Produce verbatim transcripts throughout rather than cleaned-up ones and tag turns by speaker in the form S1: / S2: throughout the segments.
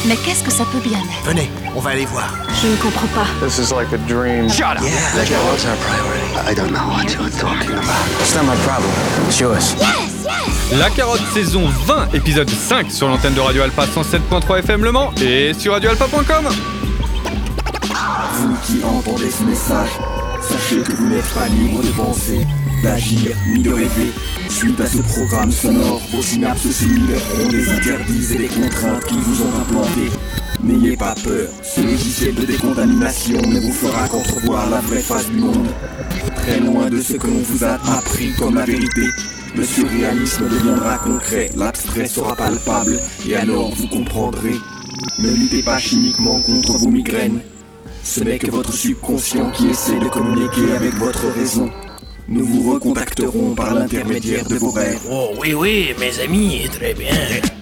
S1: Mais qu'est-ce que ça peut bien être?
S2: Venez, on va aller voir.
S1: Je ne comprends pas.
S3: This is like a dream.
S2: Shut up!
S4: Yeah,
S2: Let's go.
S4: what's our priority?
S5: I don't know what you're talking about.
S4: It's not my problem. It's yours.
S1: Yes, yes.
S6: La Carotte saison vingt, épisode cinq sur l'antenne de Radio Alpa cent sept point trois F M Le Mans et sur radio alpa point com.
S7: Vous qui entendez ce message, sachez que vous n'êtes pas libre de penser, d'agir, ni de rêver. Suite à ce programme sonore, vos synapses cellulaires ont des interdits et des contraintes qui vous ont implantés. N'ayez pas peur, ce logiciel de décontamination ne vous fera qu'entrevoir la vraie face du monde. Très loin de ce que l'on vous a appris comme la vérité, le surréalisme deviendra concret, l'abstrait sera palpable, et alors vous comprendrez. Ne luttez pas chimiquement contre vos migraines. Ce n'est que votre subconscient qui essaie de communiquer avec votre raison. Nous vous recontacterons par l'intermédiaire de vos rêves.
S2: Oh oui, oui, mes amis, très bien.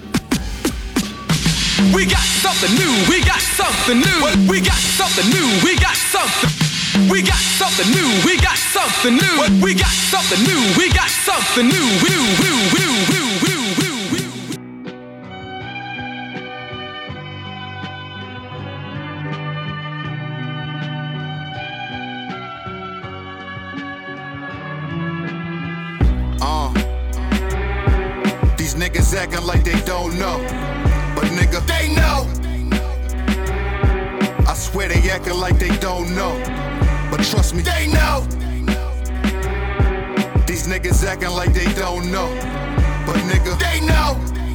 S8: We got something new, we got something new. We got something new, we got something. We got something new, we got something new. We got something new, we got something new. New, new, new, new, new, new.
S9: Niggas acting like they don't know, but nigga, they know. I swear they acting like they don't know, but trust me, they know. These niggas acting like they don't know, but nigga, they know.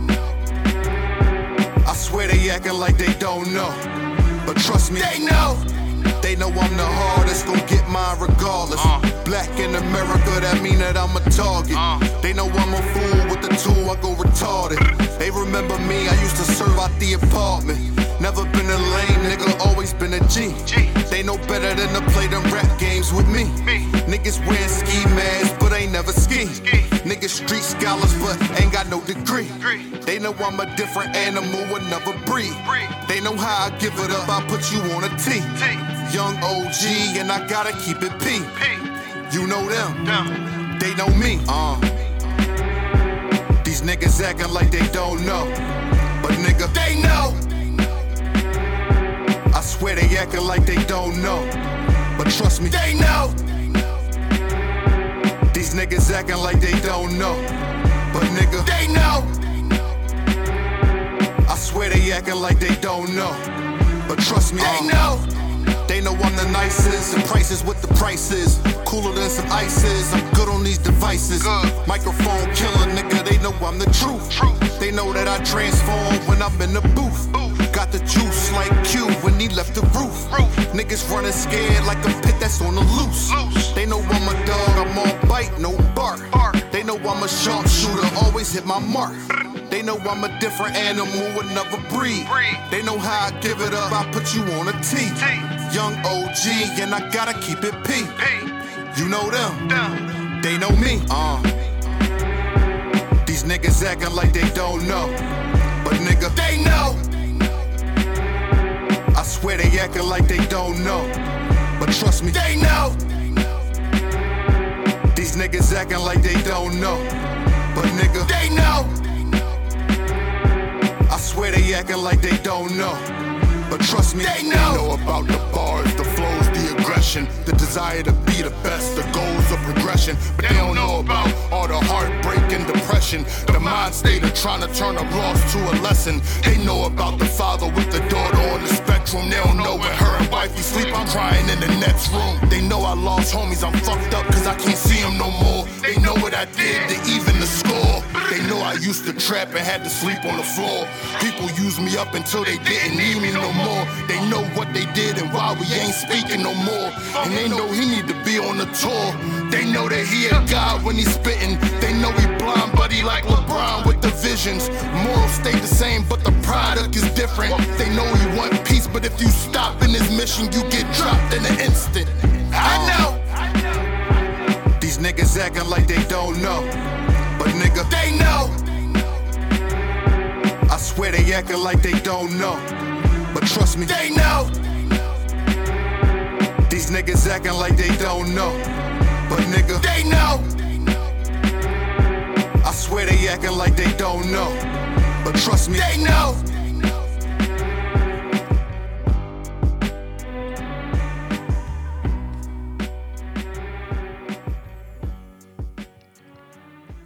S9: I swear they acting like they don't know, but trust me, they know. They know I'm the hardest, gon' get mine regardless. uh. Black in America, that mean that I'm a target. uh. They know I'm a fool with the tool, I go retarded. They remember me, I used to serve out the apartment. Never been a lame nigga, always been a G. G. They know better than to play them rap games with me. me. Niggas wearing ski masks, but ain't never ski. ski. Niggas street scholars, but ain't got no degree. degree. They know I'm a different animal, another breed. breed. They know how I give it up, I put you on a T. T. Young O G, and I gotta keep it P. P. You know them, Down. They know me. Uh. These niggas acting like they don't know, but nigga, they know. I swear they acting like they don't know, but trust me, they know. These niggas acting like they don't know, but nigga, they know. I swear they acting like they don't know, but trust me, they know. They know I'm the nicest, and prices with the prices. Cooler than some ices, I'm good on these devices. Good. Microphone killer, nigga, they know I'm the truth. truth. They know that I transform when I'm in the booth. Ooh. Got the juice like Q when he left the roof. roof. Niggas running scared like a pit that's on the loose. loose. They know I'm a dog, I'm on bite, no bark. bark. They know I'm a sharpshooter, always hit my mark. They know I'm a different animal, another breed. breed. They know how I give it up, I put you on a T. T. Young O G, and I gotta keep it P. P. You know them, Down. They know me. Uh. These niggas acting like they don't know, but nigga, they know. I swear they acting like they don't know, but trust me, they know. These niggas acting like they don't know, but nigga, they know. I swear they acting like they don't know, but trust me, they know.
S10: They know about the bars, the flows, the aggression, the desire to be the best, the goals of progression. But they don't know about all the heartbreak and depression, the mind state of trying to turn a loss to a lesson. They know about the father with the daughter on the spectrum. They don't know when her and wifey sleep, I'm crying in the next room. They know I lost homies, I'm fucked up cause I can't see them no more. They know what I did to even the score. They know I used to trap and had to sleep on the floor. People used me up until they didn't need me no more. They know what they did and why we ain't speaking no more. And they know he need to be on the tour. They know that he a god when he's spitting. They know he blind but he like LeBron with the visions. Morals stay the same but the product is different. They know he want peace but if you stop in his mission you get dropped in an instant. I know.
S9: These niggas acting like they don't know, but nigga, they know. I swear they acting like they don't know, but trust me, they know. These niggas acting like they don't know, but nigga, they know. I swear they acting like they don't know, but trust me, they know.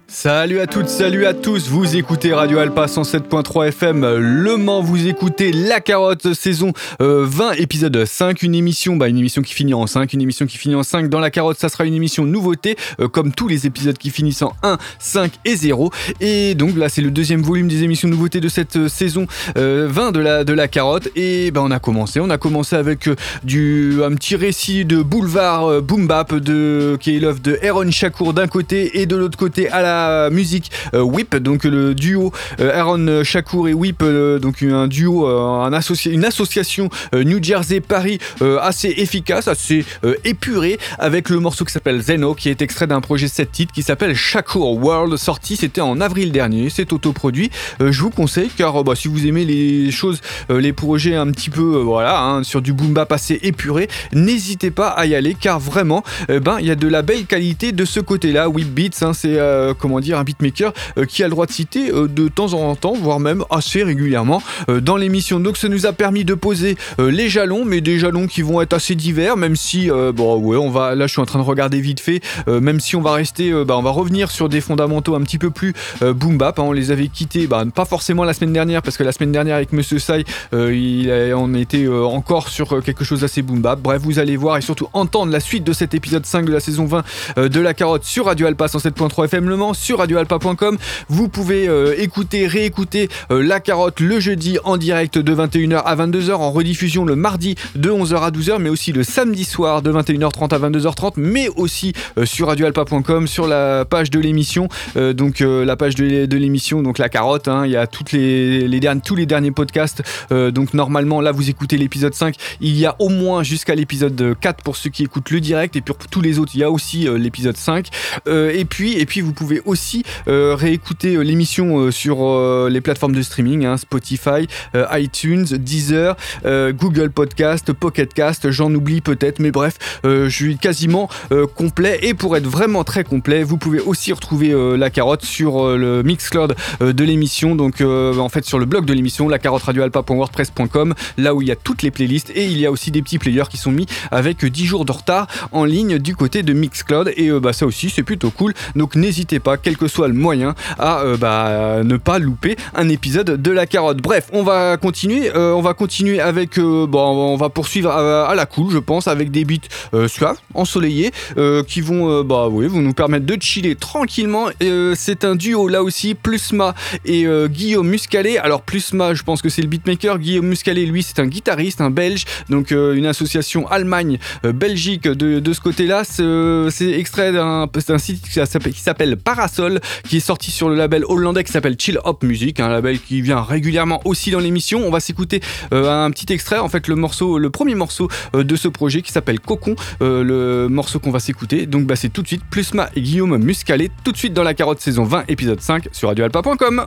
S6: Salut à toutes, salut à tous, vous écoutez Radio Alpa cent sept point trois F M Le Mans, vous écoutez La Carotte, saison euh, vingt, épisode cinq, une émission, bah une émission qui finit en cinq, une émission qui finit en cinq. Dans La Carotte, ça sera une émission nouveauté, euh, comme tous les épisodes qui finissent en un, cinq et zéro. Et donc là, c'est le deuxième volume des émissions nouveautés de cette euh, saison euh, vingt de la, de la Carotte. Et bah on a commencé, on a commencé avec euh, du, un petit récit de boulevard euh, boom bap de, qui est l'œuvre de Aaron Shakur d'un côté et de l'autre côté à la musique euh, Whip, donc le duo euh, Aaron Shakur et Whip, euh, donc un duo, euh, un associ- une association euh, New Jersey Paris euh, assez efficace, assez euh, épurée, avec le morceau qui s'appelle Zeno, qui est extrait d'un projet sept titres qui s'appelle Shakur World, sorti c'était en avril dernier, c'est autoproduit. Euh, je vous conseille car bah, si vous aimez les choses, euh, les projets un petit peu euh, voilà hein, sur du boom bap assez épuré, n'hésitez pas à y aller car vraiment euh, ben il y a de la belle qualité de ce côté-là. Whip Beats, hein, c'est euh, comment dire un beatmaker euh, qui a le droit de citer euh, de temps en temps, voire même assez régulièrement euh, dans l'émission. Donc ça nous a permis de poser euh, les jalons, mais des jalons qui vont être assez divers, même si euh, bon ouais on va là je suis en train de regarder vite fait, euh, même si on va rester, euh, bah, on va revenir sur des fondamentaux un petit peu plus euh, boom bap. Hein, on les avait quittés, bah, pas forcément la semaine dernière parce que la semaine dernière avec Monsieur Sai, euh, il a, on était euh, encore sur euh, quelque chose d'assez boom bap. Bref, vous allez voir et surtout entendre la suite de cet épisode cinq de la saison vingt euh, de La Carotte sur Radio Alpa cent sept point trois F M Le Mans, sur radio alpa point com. Vous pouvez euh, écouter, réécouter euh, La Carotte le jeudi en direct de vingt et une heures à vingt-deux heures, en rediffusion le mardi de onze heures à douze heures, mais aussi le samedi soir de vingt et une heures trente à vingt-deux heures trente, mais aussi euh, sur radio alpa point com, sur la page de l'émission, euh, donc euh, la page de, de l'émission, donc La Carotte, hein, il y a toutes les, les derniers, tous les derniers podcasts, euh, donc normalement là vous écoutez l'épisode cinq, il y a au moins jusqu'à l'épisode quatre pour ceux qui écoutent le direct, et puis pour tous les autres il y a aussi euh, l'épisode cinq, euh, et puis et puis vous pouvez aussi euh, réécouter euh, l'émission euh, sur euh, les plateformes de streaming, hein, Spotify, euh, iTunes, Deezer, euh, Google Podcast, Pocket Cast, j'en oublie peut-être, mais bref, euh, je suis quasiment euh, complet. Et pour être vraiment très complet, vous pouvez aussi retrouver euh, La Carotte sur euh, le Mixcloud euh, de l'émission, donc euh, en fait sur le blog de l'émission, la carotte radio alpa point wordpress point com, là où il y a toutes les playlists, et il y a aussi des petits players qui sont mis avec dix jours de retard en ligne du côté de Mixcloud, et euh, bah, ça aussi c'est plutôt cool, donc n'hésitez pas, quel que soit le moyen, à euh, bah, ne pas louper un épisode de La Carotte. Bref, on va continuer, euh, on va continuer avec, euh, bon, on va poursuivre à, à la cool, je pense, avec des beats euh, suaves, ensoleillés, euh, qui vont, euh, bah oui, vont nous permettre de chiller tranquillement. Euh, c'est un duo là aussi, Plusma et euh, Guillaume Muscalet. Alors Plusma, je pense que c'est le beatmaker. Guillaume Muscalet, lui, c'est un guitariste, un Belge, donc euh, une association Allemagne-Belgique euh, de, de ce côté-là. C'est, euh, c'est extrait d'un, c'est un site qui s'appelle, qui s'appelle Parasol, qui est sorti sur le label hollandais qui s'appelle Chill Hop Music, un label qui vient régulièrement aussi dans l'émission. On va s'écouter euh, un petit extrait, en fait le morceau, le premier morceau euh, de ce projet qui s'appelle Cocon, euh, le morceau qu'on va s'écouter. Donc bah c'est tout de suite Plusma et Guillaume Muscalet, tout de suite dans La Carotte saison vingt épisode cinq sur radio alpa point com.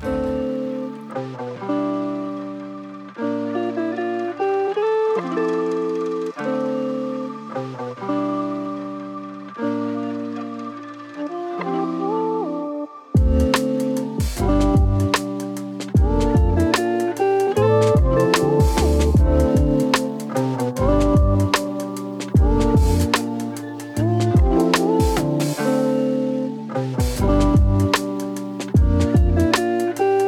S3: We'll be right back.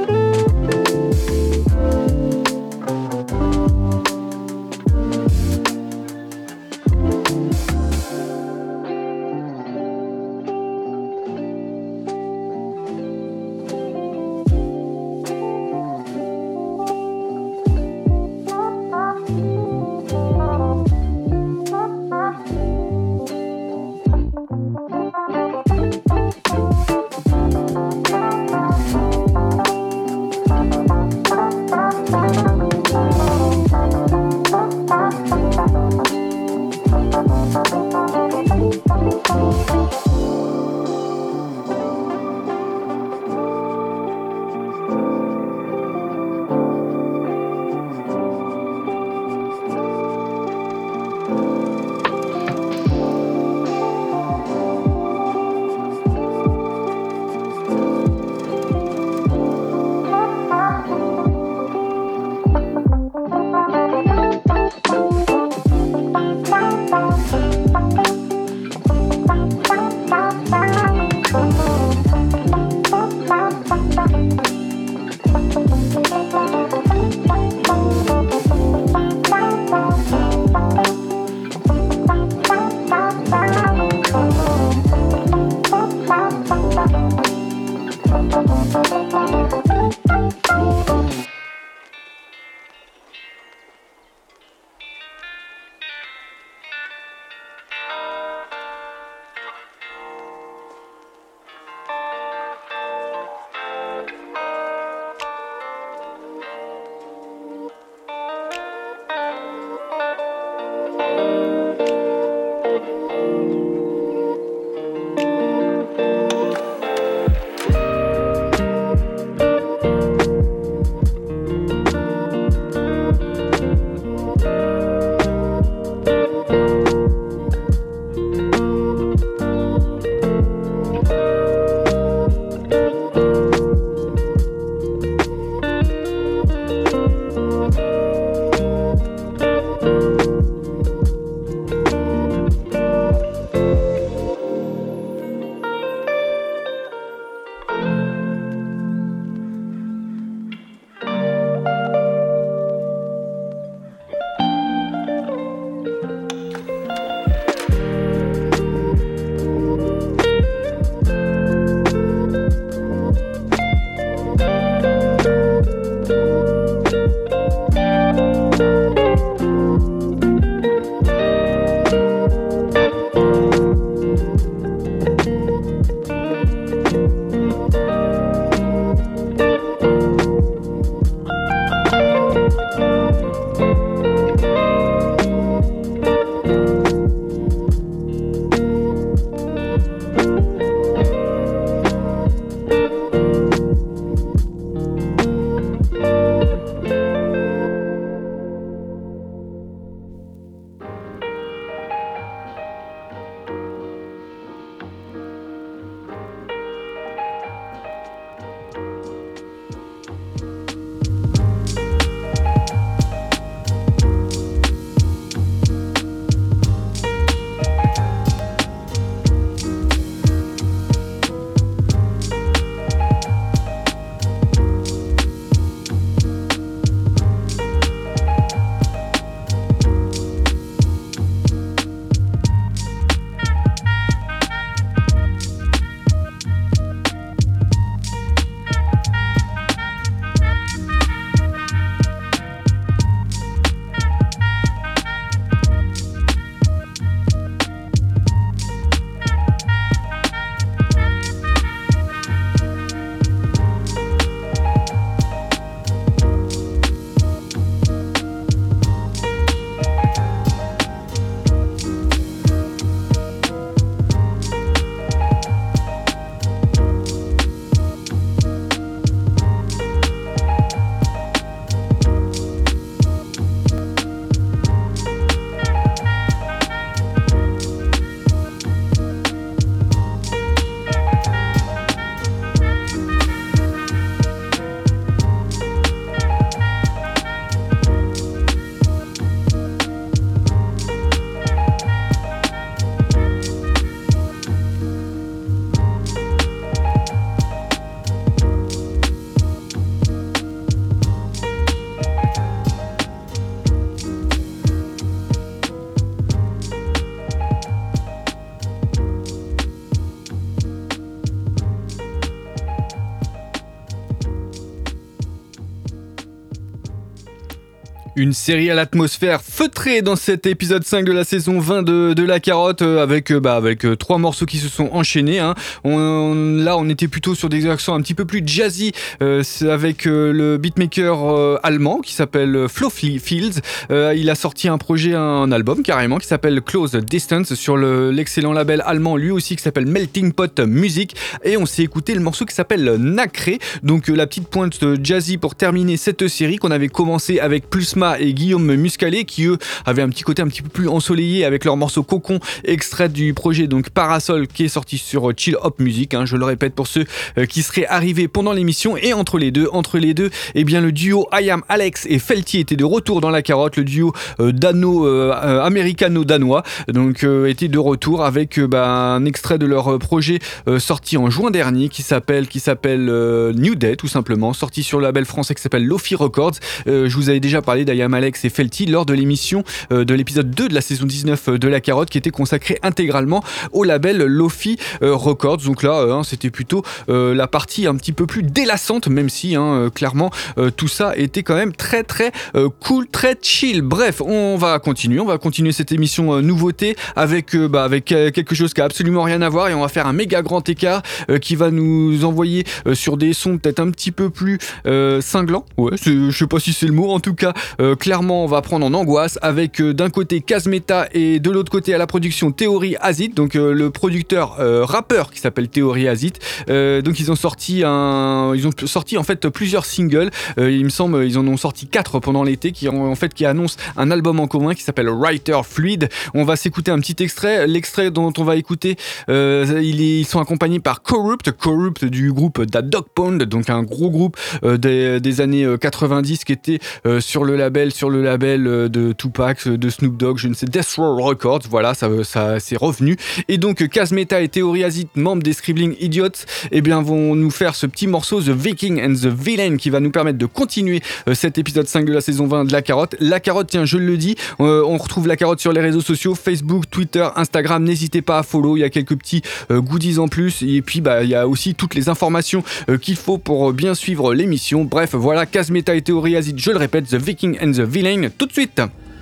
S6: Une série à l'atmosphère feutrée dans cet épisode cinq de la saison vingt de, de La Carotte avec, bah, avec euh, trois morceaux qui se sont enchaînés. Hein. On, on, là, on était plutôt sur des accents un petit peu plus jazzy euh, avec euh, le beatmaker euh, allemand qui s'appelle Flo Fields. Euh, il a sorti un projet, un album carrément qui s'appelle Close Distance sur le, l'excellent label allemand lui aussi qui s'appelle Melting Pot Music. Et on s'est écouté le morceau qui s'appelle Nacré. Donc euh, la petite pointe jazzy pour terminer cette série qu'on avait commencé avec Plusma et Guillaume Muscalet qui eux avaient un petit côté un petit peu plus ensoleillé avec leur morceau Cocon extrait du projet donc Parasol qui est sorti sur Chill Hop Music, hein, je le répète pour ceux euh, qui seraient arrivés pendant l'émission. Et entre les deux, entre les deux, eh bien le duo I Am Alex et Felty était de retour dans La Carotte, le duo euh, dano euh, euh, américano-danois donc euh, était de retour avec euh, bah, un extrait de leur projet euh, sorti en juin dernier qui s'appelle qui s'appelle euh, New Day tout simplement, sorti sur le label français qui s'appelle Lofi Records. Euh, je vous avais déjà parlé d'I Am Alex et Felty lors de l'émission euh, de l'épisode deux de la saison dix-neuf de La Carotte qui était consacrée intégralement au label Lofi euh, Records. Donc là, euh, c'était plutôt euh, la partie un petit peu plus délassante, même si hein, euh, clairement euh, tout ça était quand même très très euh, cool, très chill. Bref, on va continuer, on va continuer cette émission euh, nouveauté avec, euh, bah, avec euh, quelque chose qui a absolument rien à voir et on va faire un méga grand écart euh, qui va nous envoyer euh, sur des sons peut-être un petit peu plus euh, cinglants. Ouais, je sais pas si c'est le mot, en tout cas. Euh, clairement, on va prendre en angoisse avec euh, d'un côté Kazmeta et de l'autre côté à la production Theory Azit, donc euh, le producteur euh, rappeur qui s'appelle Theory Azit. Euh, donc ils ont sorti un, ils ont sorti en fait plusieurs singles. Euh, il me semble ils en ont sorti quatre pendant l'été qui en, en fait qui annoncent un album en commun qui s'appelle Writer Fluid. On va s'écouter un petit extrait. L'extrait dont on va écouter, euh, il est, ils sont accompagnés par Corrupt, Corrupt du groupe Da Dog Pound, donc un gros groupe euh, des, des années quatre-vingt-dix qui était euh, sur le label sur le label de Tupac, de Snoop Dogg, je ne sais, Death Row Records, voilà, ça, ça c'est revenu. Et donc Kazmeta et Theory Azit, membres des Scribbling Idiots, eh bien vont nous faire ce petit morceau The Viking and the Villain qui va nous permettre de continuer euh, cet épisode cinq de la saison vingt de La Carotte. La Carotte, tiens, je le dis, euh, on retrouve La Carotte sur les réseaux sociaux, Facebook, Twitter, Instagram, n'hésitez pas à follow, il y a quelques petits euh, goodies en plus et puis bah il y a aussi toutes les informations euh, qu'il faut pour euh, bien suivre l'émission. Bref, voilà, Kazmeta et Theory Azit, je le répète, The Viking and the Villain, tout de suite.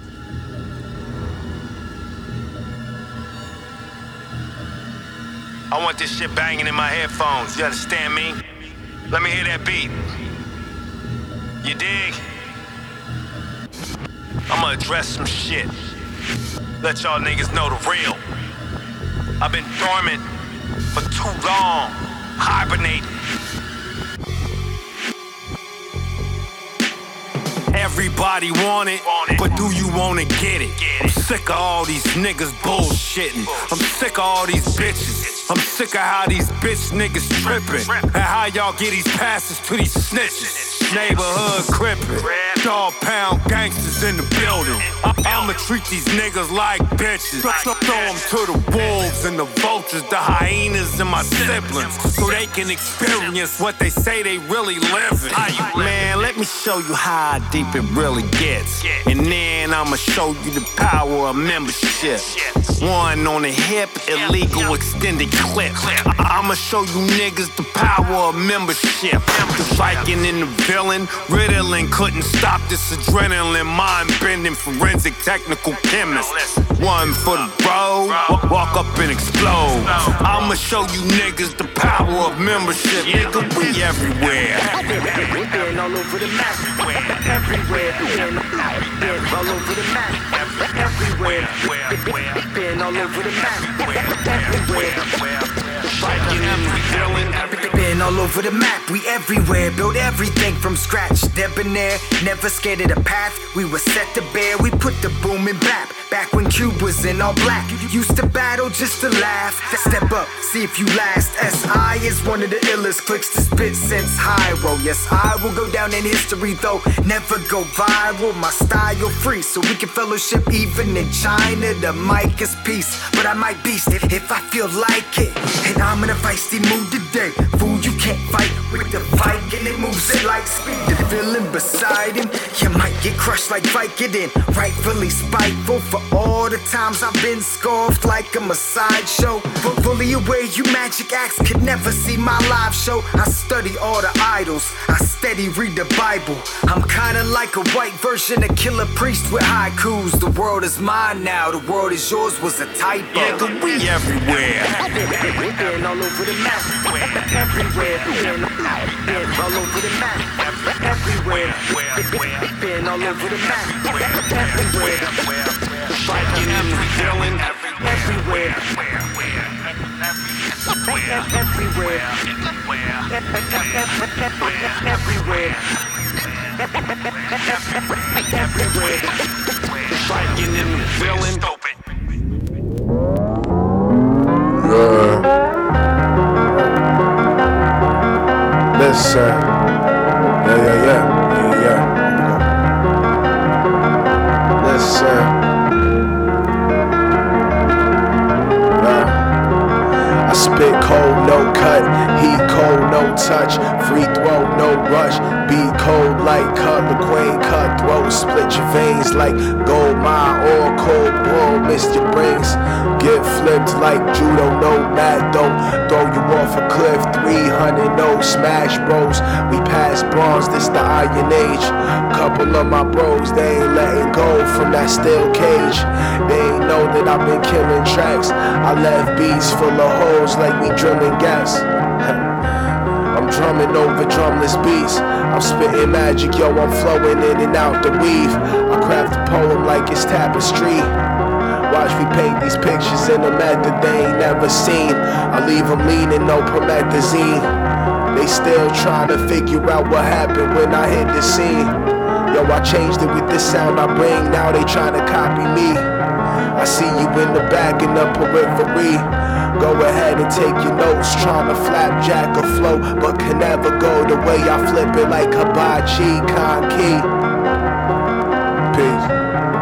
S3: I want this shit banging in my headphones, you understand me? Let me hear that beat. You dig? I'ma address some shit. Let y'all niggas know the real. I've been dormant for too long, hibernating. Everybody want it, but do you wanna get it? I'm sick of all these niggas bullshitting. I'm sick of all these bitches. I'm sick of how these bitch niggas tripping. And how y'all get these passes to these snitches. Neighborhood crippin', dog pound gangsters in the building. I'ma treat these niggas like bitches. Throw them to the wolves and the vultures, the hyenas and my siblings, so they can experience what they say they really living. Man, let me show you how deep it really gets, and then I'ma show you the power of membership. One on the hip, illegal extended clip. I'ma show you niggas the power of membership. The Viking in the villain, Ritalin couldn't stop this adrenaline, mind-bending forensic technical chemist. One for the road, walk up and explode. I'ma show you niggas the power of membership. Nigga, we everywhere.
S11: We been all over the map. Everywhere. Been all over the map. Everywhere. Been all over the map. Everywhere. Been all over the map, we everywhere. Built everything from scratch, debonair. Never scared of the path, we were set to bear. We put the boom in bap, back when Cube was in all black. Used to battle just to laugh. Step up, see if you last. S I is one of the illest clicks to spit since Hyro. Yes, I will go down in history though, never go viral. My style free, so we can fellowship even in China. The mic is peace, but I might beast it if I feel like it. And I'm in a feisty mood today. Fool, you can't fight with the Viking and it moves it like speed. The feeling beside him, you might get crushed like Vicodin. Rightfully spiteful for all the times I've been scoffed like I'm a sideshow. But fully aware you magic acts could never see my live show. I study all the idols, I steady read the Bible. I'm kinda like a white version of Killer Priest with haikus. The world is mine now, the world is yours was a typo.
S3: Yeah, cause we everywhere.
S11: We've been all over the map. Everywhere. Been all over the map. Everywhere. Been all over the map. Everywhere. The Viking and the villain. Everywhere. Everywhere. Everywhere. Everywhere. The Viking and the villain.
S12: Uh, listen, yeah, yeah, yeah, yeah, yeah. Listen, uh, I spit cold, no cut, heat cold, no touch, free throw, no rush, beat cold like Cutler Queen, cutthroat, split your veins like gold mine or cold bull, missed your brains. Get flipped like judo, no mat, don't throw you off a cliff. Three hundred, no smash bros. We pass bronze, this the iron age. Couple of my bros, they ain't letting go from that steel cage. They ain't know that I've been killing tracks. I left beats full of holes like we drilling gas. I'm drumming over drumless beats. I'm spitting magic, yo, I'm flowing in and out the weave. I craft a poem like it's tapestry. Watch me paint these pictures in a method they ain't never seen. I leave them leaning, no promethazine. They still trying to figure out what happened when I hit the scene. Yo, I changed it with the sound I bring, now they trying to copy me. I see you in the back in the periphery. Go ahead and take your notes, trying to flapjack a flow, but can never go the way I flip it like hibachi, Kon-Ki. Peace.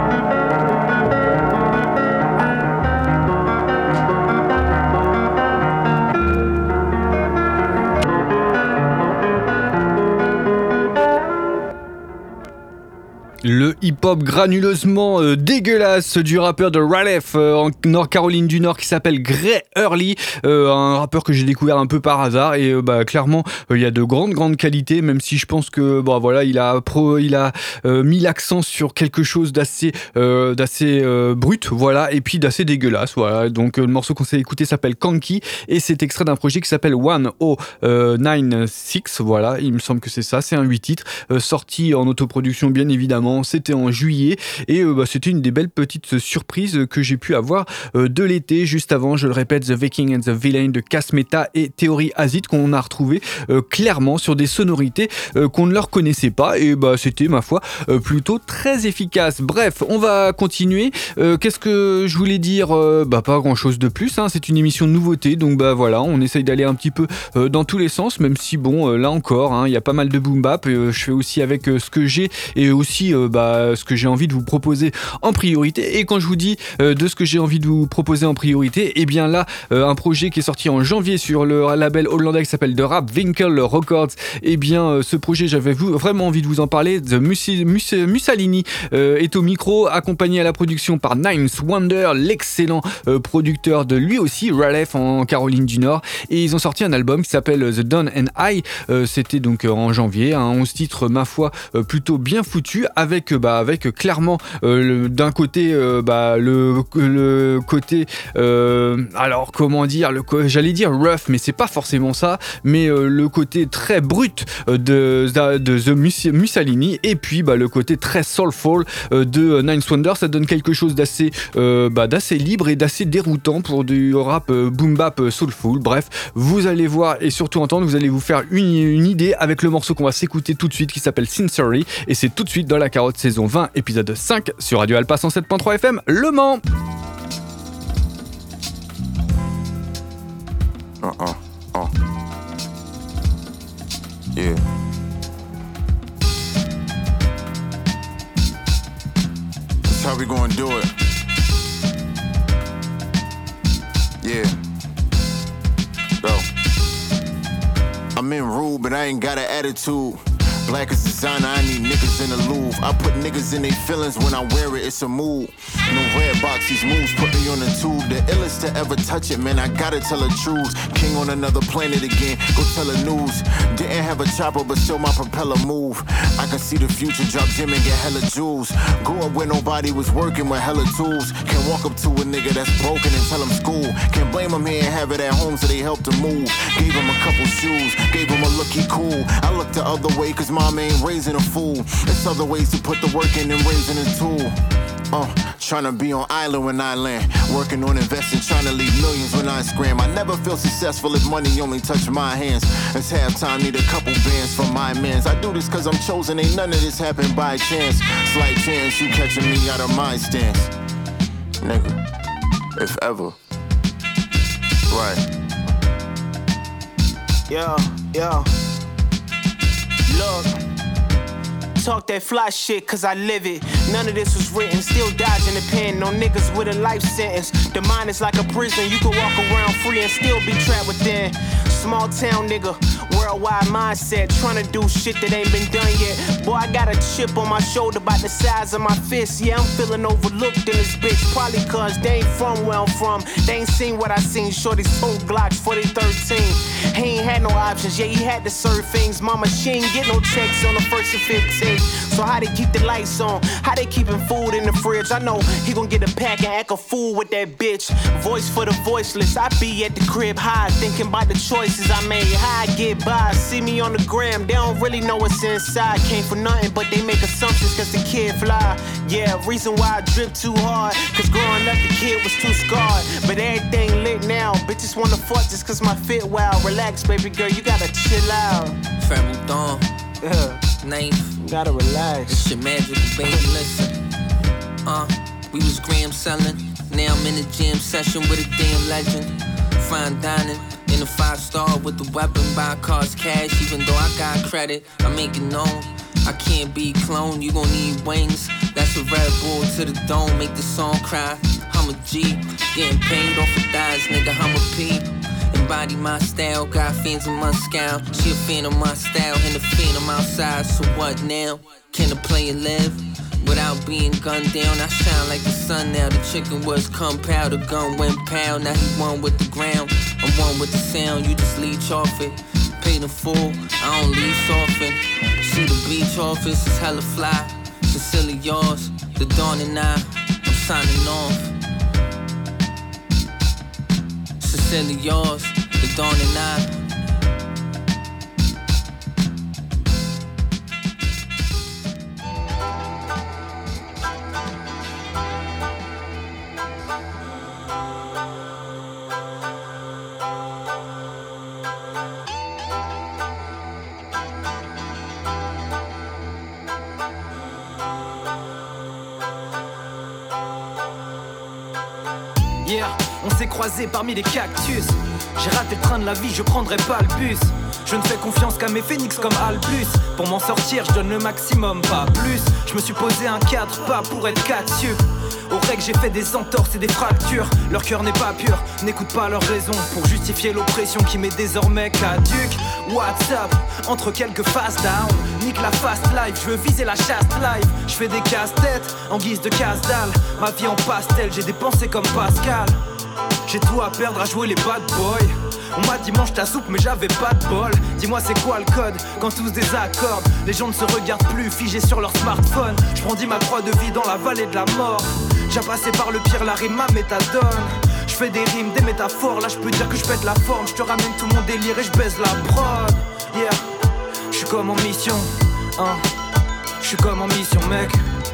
S6: Le hip-hop granuleusement euh, dégueulasse du rappeur de Raleigh euh, en Nord Caroline du Nord qui s'appelle Gray Early, euh, un rappeur que j'ai découvert un peu par hasard et euh, bah clairement il euh, y a de grandes grandes qualités, même si je pense que bon voilà il a pro, il a euh, mis l'accent sur quelque chose d'assez euh, d'assez euh, brut, voilà, et puis d'assez dégueulasse, voilà. Donc euh, le morceau qu'on s'est écouté s'appelle Kon-Ki et c'est extrait d'un projet qui s'appelle one oh nine six, voilà, il me semble que c'est ça, c'est un huit titres euh, sorti en autoproduction bien évidemment. C'était en juillet et euh, bah, c'était une des belles petites surprises que j'ai pu avoir euh, de l'été. Juste avant, je le répète, The Viking and the Villain de Cass Meta et Theory Acid qu'on a retrouvé euh, clairement sur des sonorités euh, qu'on ne leur connaissait pas et bah, c'était ma foi euh, plutôt très efficace. Bref, on va continuer. Euh, qu'est-ce que je voulais dire euh, bah, pas grand chose de plus, hein. C'est une émission de nouveauté donc bah, voilà, on essaye d'aller un petit peu euh, dans tous les sens, même si bon euh, là encore, hein, il y a pas mal de boom bap. Euh, je fais aussi avec euh, ce que j'ai et aussi euh, bah, ce que j'ai envie de vous proposer en priorité. Et quand je vous dis euh, de ce que j'ai envie de vous proposer en priorité, et eh bien là euh, un projet qui est sorti en janvier sur le label hollandais qui s'appelle The Rap Winkle Records, et eh bien euh, ce projet j'avais vraiment envie de vous en parler. The Mus- Mus- Mussolini euh, est au micro, accompagné à la production par Ninth Wonder, l'excellent euh, producteur de lui aussi Raleigh en Caroline du Nord, et ils ont sorti un album qui s'appelle The Dawn and I. Euh, c'était donc euh, en janvier, un onze titres ma foi euh, plutôt bien foutu, avec Avec, bah, avec clairement euh, le, d'un côté euh, bah, le, le côté euh, alors comment dire le, j'allais dire rough mais c'est pas forcément ça, mais euh, le côté très brut euh, de, de The Mus- Mussolini et puis bah, le côté très soulful euh, de Ninth Wonder. Ça donne quelque chose d'assez, euh, bah, d'assez libre et d'assez déroutant pour du rap euh, boom bap euh, soulful. Bref, vous allez voir et surtout entendre, vous allez vous faire une, une idée avec le morceau qu'on va s'écouter tout de suite qui s'appelle Sincerely, et c'est tout de suite dans la carotte saison vingt, épisode cinq sur Radio Alpa cent sept point trois F M, Le Mans.
S13: Uh-uh. Uh. Yeah. That's how we gonna do it. Yeah. Go. I'm in rude, but I ain't got an attitude. Black as designer, I need niggas in the Louvre. I put niggas in their feelings when I wear it, it's a mood. No red box, these moves put me on the tube. The illest to ever touch it, man, I gotta tell the truth. King on another planet again, go tell the news. Didn't have a chopper, but still my propeller move. I can see the future, drop gym and get hella jewels. Grew up where nobody was working with hella tools. Can't walk up to a nigga that's broken and tell him school. Can't blame him here and have it at home, so they helped him move. Gave him a couple shoes, gave him a look, he cool. I looked the other way, cause mom ain't raising a fool. There's other ways to put the work in than raising a tool. Uh, tryna be on island when I land. Working on investing, tryna leave millions when I scram. I never feel successful if money only touch my hands. It's halftime, need a couple bands from my mans. I do this cause I'm chosen, ain't none of this happen by chance. Slight chance you catching me out of my stance. Nigga, if ever. Right.
S14: Yo, yo. Look, talk that fly shit cause I live it. None of this was written, still dodging the pen. No niggas with a life sentence. The mind is like a prison, you can walk around free and still be trapped within. Small town nigga, worldwide mindset, trying to do shit that ain't been done yet. Boy, I got a chip on my shoulder about the size of my fist. Yeah, I'm feeling overlooked in this bitch. Probably cause they ain't from where I'm from. They ain't seen what I seen. Shorty sold Glocks for they thirteen. He ain't had no options, yeah, he had to serve things. Mama, she ain't get no checks on the first and fifteenth. So how they keep the lights on? How they keeping food in the fridge? I know he gon' get a pack and act a fool with that bitch. Voice for the voiceless. I be at the crib high, thinking about the choices I made. How I get by, see me on the gram. They don't really know what's inside. Came for nothing, but they make assumptions cause the kid fly. Yeah, reason why I drip too hard. Cause growing up the kid was too scarred. But everything lit now. Bitches wanna fuck just cause my fit wild. Relax, baby girl, you gotta chill out.
S15: Pharrell Dawn.
S14: Yeah.
S15: Knife.
S14: You gotta relax.
S15: It's your magical, baby, listen. Uh, we was gram selling. Now I'm in a jam session with a damn legend. Fine dining in a five star with the weapon. Buy cars cash, even though I got credit. I make it known. I can't be cloned, you gon' need wings. That's a Red Bull to the dome, make the song cry. I'm a G, getting paid off of thighs, nigga, I'm a P. Embody my style, got fans in my scowl. She a fan of my style, and a fan of my outside. So what now? Can the player live without being gunned down? I shine like the sun now. The chicken was compound, the gun went pound. Now he one with the ground, I'm one with the sound. You just leech off it, pay the full, I don't lease off it. See the beach office is hella fly. Sincerely yours, the dawn and I, I'm signing off. Sincerely yours, the dawn and I.
S16: Yeah, on s'est croisés parmi les cactus. J'ai raté le train de la vie, je prendrai pas le bus. Je ne fais confiance qu'à mes phénix comme Albus. Pour m'en sortir, je donne le maximum, pas plus. Je me suis posé un cadre, pas pour être cassieux. Aux règles, j'ai fait des entorses et des fractures. Leur cœur n'est pas pur, n'écoute pas leurs raisons. Pour justifier l'oppression qui m'est désormais caduque. WhatsApp, entre quelques fast down. Nique la fast life, je veux viser la chaste life. Je fais des casse-têtes en guise de casse-dalle. Ma vie en pastel, j'ai des pensées comme Pascal. J'ai tout à perdre à jouer les bad boys. On m'a dit mange ta soupe mais j'avais pas de bol. Dis-moi c'est quoi le code quand tous désaccordent. Les gens ne se regardent plus figés sur leur smartphone. Je brandis ma croix de vie dans la vallée de la mort. J'ai passé par le pire, la rime ma méthadone. Je fais des rimes, des métaphores. Là je peux dire que je pète la forme. Je te ramène tout mon délire et je baise la prod. Yeah, je suis comme en mission, hein. Je suis comme en mission mec.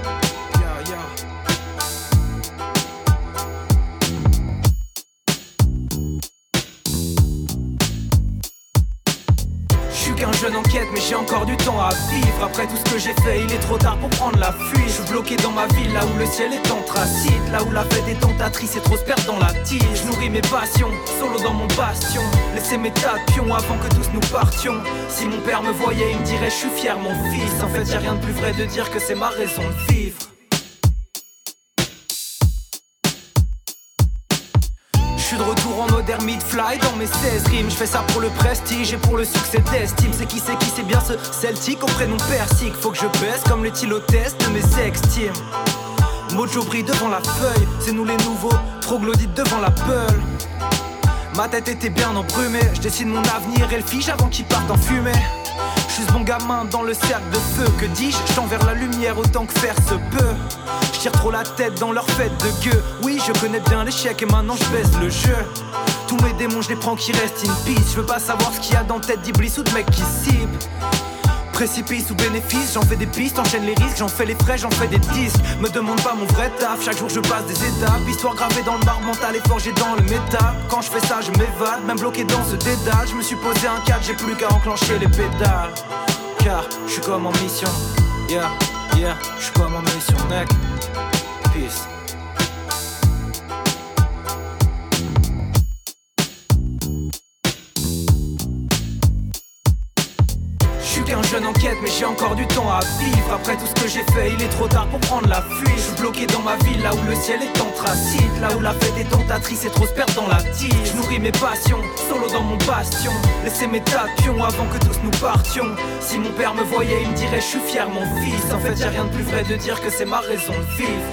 S16: Qu'un jeune en quête mais j'ai encore du temps à vivre. Après tout ce que j'ai fait il est trop tard pour prendre la fuite. Je suis bloqué dans ma ville là où le ciel est anthracite. Là où la fête est tentatrice et trop se perdre dans la tige. Je nourris mes passions, solo dans mon bastion. Laissez mes tas de pions avant que tous nous partions. Si mon père me voyait il me dirait je suis fier mon fils. En fait y'a rien de plus vrai de dire que c'est ma raison de vivre. Je suis de retour en mode hypodermie de fly dans mes seize rimes. Je fais ça pour le prestige et pour le succès d'estime. C'est qui, c'est qui, c'est bien ce Celtic au prénom Persique. Faut que je baisse comme les tylotestes de mes ex-teams. Mojo brille devant la feuille, c'est nous les nouveaux troglodytes devant la peule. Ma tête était bien embrumée, je dessine mon avenir et le fige avant qu'il parte en fumée. Je suis ce bon gamin dans le cercle de feu, que dis-je, je tends vers la lumière autant que faire se peut. Je tire trop la tête dans leur fête de gueux. Oui, je connais bien l'échec et maintenant je baisse le jeu. Tous mes démons je les prends qui restent in peace. Je veux pas savoir ce qu'il y a dans la tête d'Iblis ou de mecs qui ciblent. Précipice ou bénéfice, j'en fais des pistes, enchaîne les risques, j'en fais les frais, j'en fais des disques. Me demande pas mon vrai taf, chaque jour je passe des étapes. Histoire gravée dans le marbre mental et forgée dans le métal. Quand je fais ça je m'évade, même bloqué dans ce dédale. Je me suis posé un cadre, j'ai plus qu'à enclencher les pédales. Car je suis comme en mission, yeah, yeah, je suis comme en mission, mec. Peace. Un jeune en quête mais j'ai encore du temps à vivre. Après tout ce que j'ai fait il est trop tard pour prendre la fuite. Je suis bloqué dans ma ville là où le ciel est anthracite. Là où la fête est tentatrice et trop se perdre dans la tige. Je nourris mes passions, solo dans mon bastion. Laissez mes tas de pions avant que tous nous partions. Si mon père me voyait il me dirait je suis fier mon fils. En fait y'a rien de plus vrai de dire que c'est ma raison de vivre.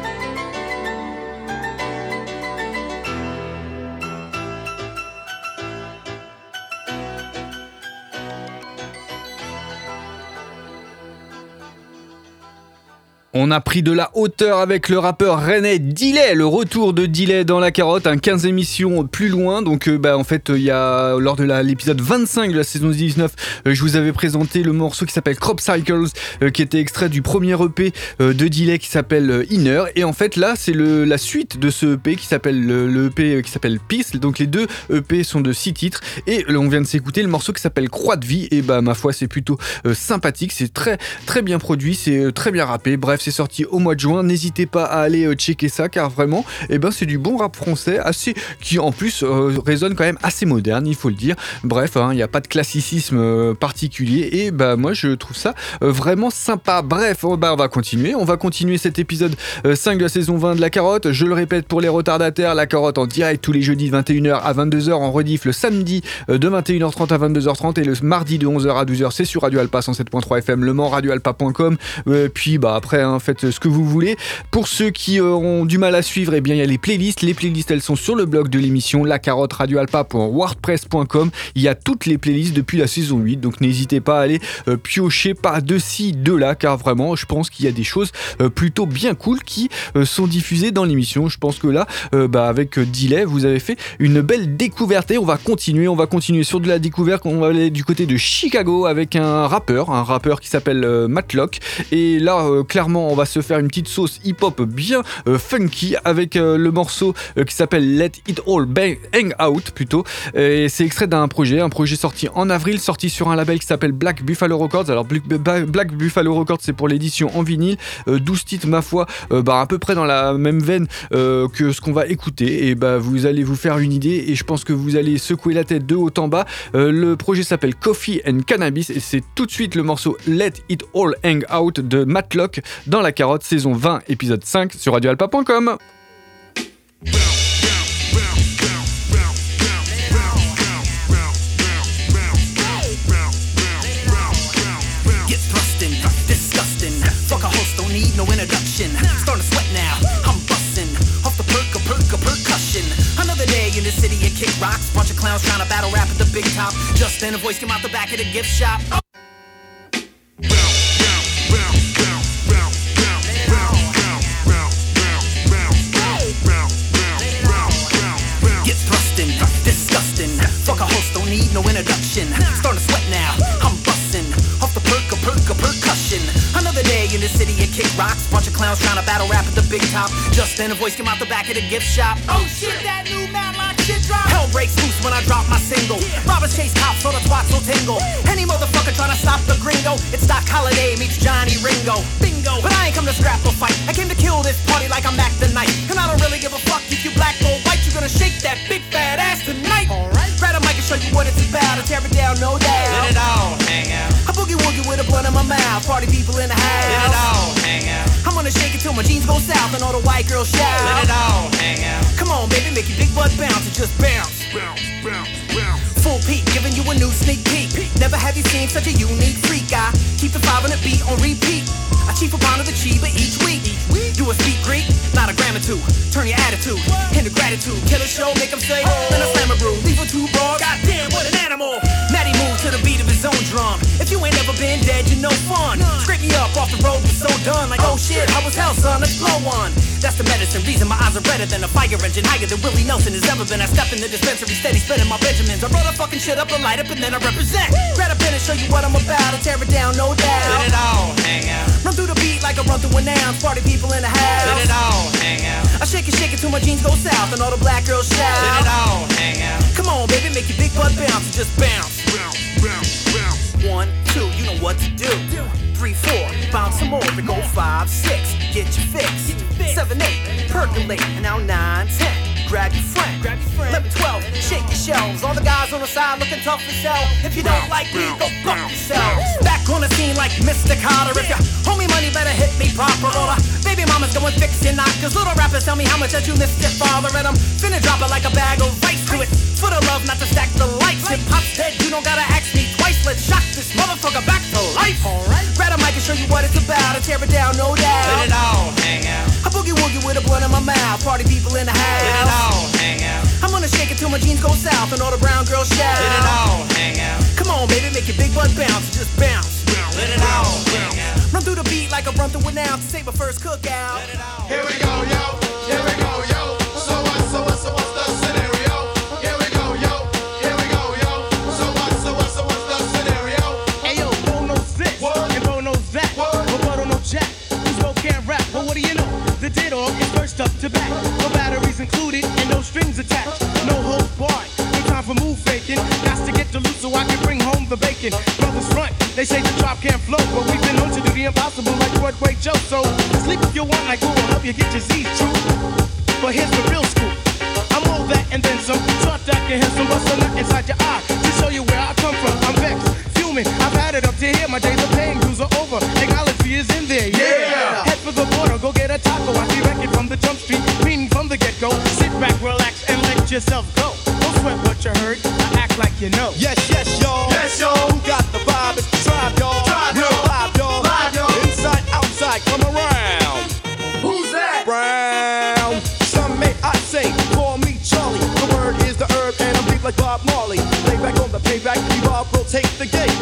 S6: On a pris de la hauteur avec le rappeur rennais Delay, le retour de Delay dans la carotte, un quinze émissions plus loin. Donc euh, bah, en fait il y a lors de la, l'épisode vingt-cinq de la saison dix-neuf, euh, je vous avais présenté le morceau qui s'appelle Crop Cycles, euh, qui était extrait du premier E P euh, de Delay qui s'appelle euh, Inner. Et en fait là c'est le, la suite de ce E P qui s'appelle le, le E P qui s'appelle Peace. Donc les deux E P sont de six titres et euh, on vient de s'écouter le morceau qui s'appelle Croix de vie. Et bah ma foi c'est plutôt euh, sympathique, c'est très très bien produit, c'est euh, très bien rappé. Bref, c'est sorti au mois de juin, n'hésitez pas à aller euh, checker ça car vraiment eh ben, c'est du bon rap français assez, qui en plus euh, résonne quand même assez moderne, il faut le dire. Bref, il hein, n'y a pas de classicisme euh, particulier et bah, moi je trouve ça euh, vraiment sympa. Bref, on, bah, on va continuer, on va continuer cet épisode euh, cinq de la saison vingt de la carotte. Je le répète pour les retardataires, la carotte en direct tous les jeudis de vingt et une heures à vingt-deux heures, en rediff le samedi euh, de vingt et une heures trente à vingt-deux heures trente et le mardi de onze heures à douze heures c'est sur Radio Alpa cent sept point trois F M, Le Mans, radio alpa point com. Euh, puis bah après hein, faites ce que vous voulez. Pour ceux qui euh, ont du mal à suivre, eh bien il y a les playlists. Les playlists elles sont sur le blog de l'émission la carotte radio alpa point wordpress point com. Il y a toutes les playlists depuis la saison huit, donc n'hésitez pas à aller euh, piocher pas de ci, de là, car vraiment je pense qu'il y a des choses euh, plutôt bien cool qui euh, sont diffusées dans l'émission. Je pense que là, euh, bah, avec euh, Delay, vous avez fait une belle découverte et on va continuer, on va continuer sur de la découverte. On va aller du côté de Chicago avec un rappeur, un rappeur qui s'appelle euh, Matlock. Et là, euh, clairement, on va se faire une petite sauce hip-hop bien euh, funky avec euh, le morceau euh, qui s'appelle Let It All Bang Hang Out plutôt. Et c'est extrait d'un projet, un projet sorti en avril, sorti sur un label qui s'appelle Black Buffalo Records. Alors Black Buffalo Records, c'est pour l'édition en vinyle, euh, douze titres ma foi, euh, bah, à peu près dans la même veine euh, que ce qu'on va écouter. Et bah vous allez vous faire une idée et je pense que vous allez secouer la tête de haut en bas. Euh, le projet s'appelle Coffee and Cannabis et c'est tout de suite le morceau Let It All Hang Out de Matlock dans la carotte saison vingt épisode cinq sur radio alpa point com.
S17: No introduction, starting to sweat now. I'm busting off the perk of perk of percussion. Another day in the city of kick rocks. Bunch of clowns trying to battle rap at the big top. Just then a voice came out the back of the gift shop. Oh. Get thrusting, disgusting. Fuck a host, don't need no introduction. Starting to sweat now. I'm busting off the perk of perk of percussion. Another day in the city of kick rocks. Bunch of clowns trying to battle rap at the big top. Just then a voice came out the back of the gift shop. Oh shit, that new Matlock shit drop. Hell breaks loose when I drop my single. Robbers chase cops so the twats will tingle. Any motherfucker trying to stop the gringo. It's Doc Holliday meets Johnny Ringo. Bingo. But I ain't come to scrap or fight. I came to kill this party like I'm Mac the Knight. And I don't really give a fuck if you black or white. You gonna shake that big fat ass tonight. Alright. Grab a mic and show you what it's about. And tear it down, no doubt. Let it all hang out. I boogie woogie with a blunt in my mouth. Party people in the house. Let it all hang out. I'm gonna shake it till my jeans go south and all the white girls shout. Let it all hang out. Come on, baby, make your big butt bounce and just bounce. Full peak, giving you a new sneak peek. Never have you seen such a unique freak. I keep the five on the beat on repeat. I chief a pound of the chiba each week. Do a speak Greek, not a gram or two. Turn your attitude into gratitude. Kill a show, make them say, then I slam a brew. Leave a too broad, goddamn, what an animal. Matty moves to the beat of his own drum. If you ain't never been dead, you no fun. Scrape me up off the road, we so done. Like, oh shit, how was hell, son? Let's blow one. That's the medicine, reason my eyes are redder than a fire engine. Higher than Willie Nelson has ever been. I step in the dispensary, steady spinning my Benjamins. I roll the fucking shit up and light up and then I represent. Grab a pen and show you what I'm about. I tear it down, no doubt.
S8: Let it all hang out.
S17: Run through the beat like I run through an ounce. Party people in the house.
S8: Let it all hang out.
S17: I shake it, shake it till my jeans go south and all the black girls shout.
S8: Let it all hang out.
S17: Come on, baby, make your big butt bounce and just bounce. Bounce, bounce, bounce. One, two, you know what to do. Three, four, bounce some more. Then go five, six, get your fix. Seven, eight, percolate, and now nine, ten. Grab your friend. Grab your friend. eleven, twelve, shake your shelves. All the guys on the side looking tough as hell. If you don't like me, go fuck yourself. Back on the scene like Mister Carter. If you owe me money, better hit me proper. Or the baby mama's going fix your knock. Cause little rappers tell me how much that you missed your father. And I'm finna drop it like a bag of rice to it. For the love, not to stack the lights. Hip hop's dead, you don't gotta ask me twice. Let's shock this motherfucker back to life. Alright. Grab a mic and show you what it's about. I tear it down, no doubt.
S8: Let it all hang out.
S17: I boogie woogie with a blunt in my mouth. Party people in the house.
S8: Let it all hang out.
S17: I'm gonna shake it till my jeans go south and all the brown girls shout.
S8: Let it all hang out.
S17: Come on, baby, make your big butt bounce. Just bounce.
S8: Let it all hang out.
S17: Run through the beat like I run through an ounce. Save my first cookout.
S10: Here we go, yo. Here we go, yo. So what? So what? So what's the scenario? Here we go, yo. Here we go, yo. So what? So what? So what's the scenario?
S18: Hey yo, Bo knows this and Bo knows that, but Bo don't know jack. Who's Bo can't rap? But what do you know? The ditto is first up to back. No batteries included and no strings attached. No holds barred. No time for move faking. Got to get the loot so I can bring home the bacon. Brothers front, they say the drop can't flow, but we've been known to do the impossible like Broadway Joe. So sleep if you want, like who will help you get your Z's true. But here's the real scoop. I'm all that and then some. Thought that can hit some bust a nut inside your eye to show you where I come from. I'm vexed, fuming. I've had it up to here. My days of paying dues are over. Technology is in there. Yeah. yeah. Head for the border, go get a taco. I see record from the jump street, meaning from the get go. Sit back, relax, and let yourself go. Don't sweat what you heard. I act like you know.
S19: Yes, yes, y'all.
S10: Yes, y'all.
S19: Who got the vibe? It's the tribe, y'all.
S10: Tribe,
S19: Real
S10: y'all.
S19: vibe, y'all.
S10: Live, y'all.
S19: Inside, outside, come around.
S10: Who's that?
S19: Brown. Some may I say, call me Charlie. The word is the herb, and I'm deep like Bob Marley. Lay back on the payback, evolve, rotate the gates.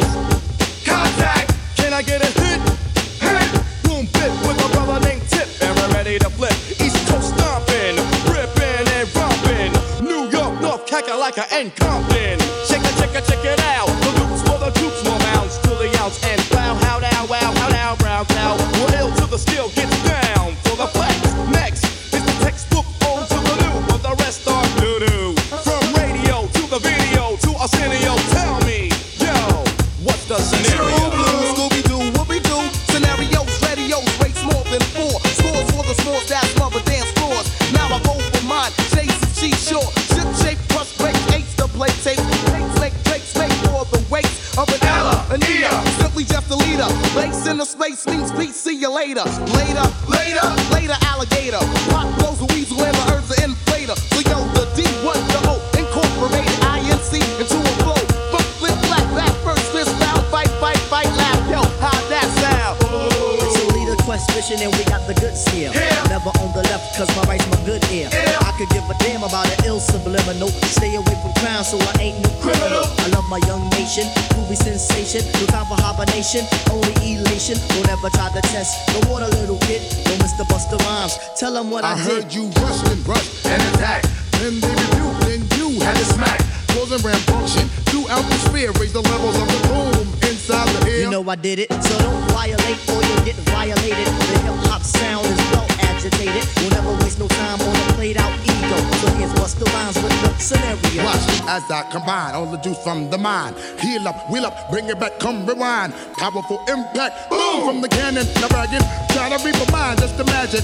S10: Contact.
S19: Can I get a hit? Hit. Boom, bit with a brother named Tip, and we're ready to flip. East Coast stomping, ripping and romping. New York, North Kakalaka and Compton. Check it, check it, check it out. The loops for the troops, more mounds to the ounce. And wow, how down, wow, how down, brown cow. We're ill till the steel gets down for the flex. Next is the textbook on to the new, but the rest are doo-doo. From radio to the video to Arsenio, tell me, yo, what's the scenario?
S10: True blue, Scooby-Doo, whoopie-doo. Scenarios, radios, rates more than four. Scores for the scores, that's rubber dance floors. Now I go for mine, Chase and G-Shore. Ship shape, plus break, eights to play tape. Takes, make, takes, make for the weight of an Ella, an Ea. Simply just a leader. Lace in the space means peace, see you later. Later, later, later, alligator. Pop blows a weasel and the earth's an inflator. So yo, the D, what the O, incorporated I N C into a flow. Flip, flip, flat, back, first, fist, down, fight, fight, fight, laugh. Yo, how'd that sound?
S20: So lead a quest mission and we got the goods here.
S10: Yeah.
S20: Never on the left cause my right's my good ear.
S10: Yeah.
S20: I could give a damn about an ill subliminal. Stay away from crime so I ain't no criminal. I love my young nation, groovy sensation. No time for hibernation, only elation. Don't ever try to test the water, little kid. Don't miss the Busta Rhymes. Tell them what I,
S10: I
S20: did.
S10: heard you rushed and rushed and attacked. Then they rebuked and you had to smack. Causing rambunctious throughout the sphere. Raise the levels of the boom inside the air.
S20: You know I did it, so don't violate or you'll get violated. The hip hop sound is well agitated. We'll never waste no time on a played out ego. So here's Busta Rhymes with the scenario.
S10: Watch as I combine all the juice from the mind. Heal up, wheel up, bring it back, come rewind. Powerful impact, boom from the cannon. Now bragging, try to reap a mind, just imagine.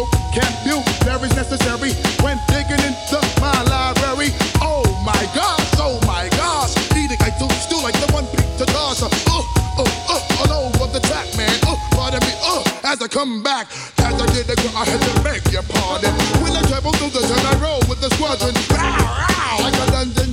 S10: Vocabulary's necessary when digging into my library. Oh my gosh, oh my gosh. Eating like two stew like the one beat to toss. Uh, uh, uh, all over the track, man. Uh, pardon me, uh, as I come back. As I did the I had to beg your pardon. When I travel through the turn, I roll with the squadron. Row, row, like a dungeon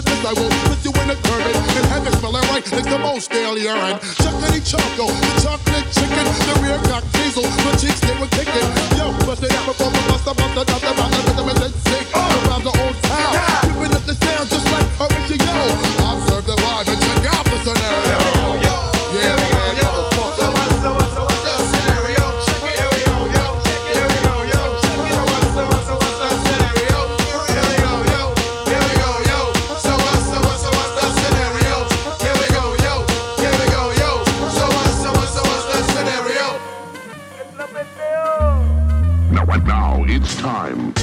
S10: at this, I will put you in a curtain. In heaven, smelling right like the most stale urine. Chocolatey choco, the chocolate chicken, the rear cock diesel, the cheeks they were kicking. Yo, bust it out before the bust about the dust about the rhythm and then sick. Around the old town, keeping up the sound just like original. Observe the vibe and check out the scenario. Yeah, man.
S5: Now it's time.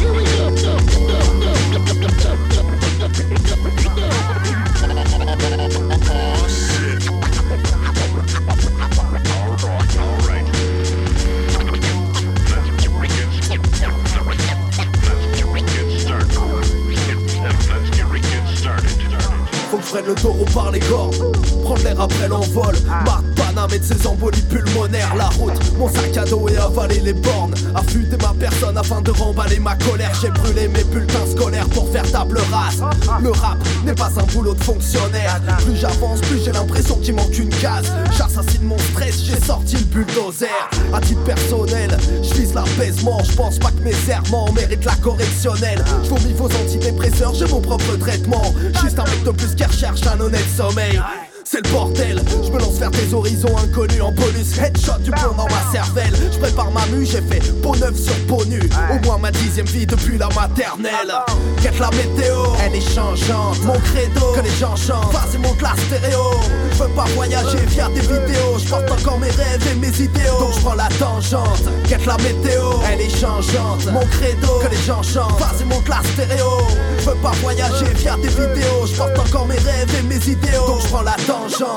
S21: Faut que je prenne le taureau par les cornes, prendre l'air après l'envol. Marc Paname et de ses embolies pulmonaires. La route, mon sac à dos et avaler les bornes. Affûter ma personne afin de remballer ma colère. J'ai brûlé mes bulletins scolaires pour faire table rase. Le rap n'est pas un boulot de fonctionnaire. Plus j'avance, plus j'ai l'impression qu'il manque une case. J'assassine mon stress, j'ai sorti le bulldozer. À titre personnel, je vise l'apaisement. Je pense pas que mes serments méritent la correctionnelle. Je vomis vos antidépresseurs, j'ai mon propre traitement. Juste un mec de plus qui recherche un honnête sommeil. C'est le bordel, je me lance vers des horizons inconnus en bonus. Headshot du plomb dans ma cervelle. Je prépare ma mue, j'ai fait peau neuve sur peau nue. Au moins ma dixième vie depuis la maternelle. Quête la météo, elle est changeante. Mon credo, que les gens chantent. Vas-y monte la stéréo. Je veux pas voyager via des vidéos. Je porte encore mes rêves et mes idéaux. Donc je prends la tangente. Quête la météo, elle est changeante. Mon credo, que les gens chantent. Vas-y monte la stéréo. Je veux pas voyager via des vidéos. Je porte encore mes rêves et mes idéaux. Donc je prends la tangente.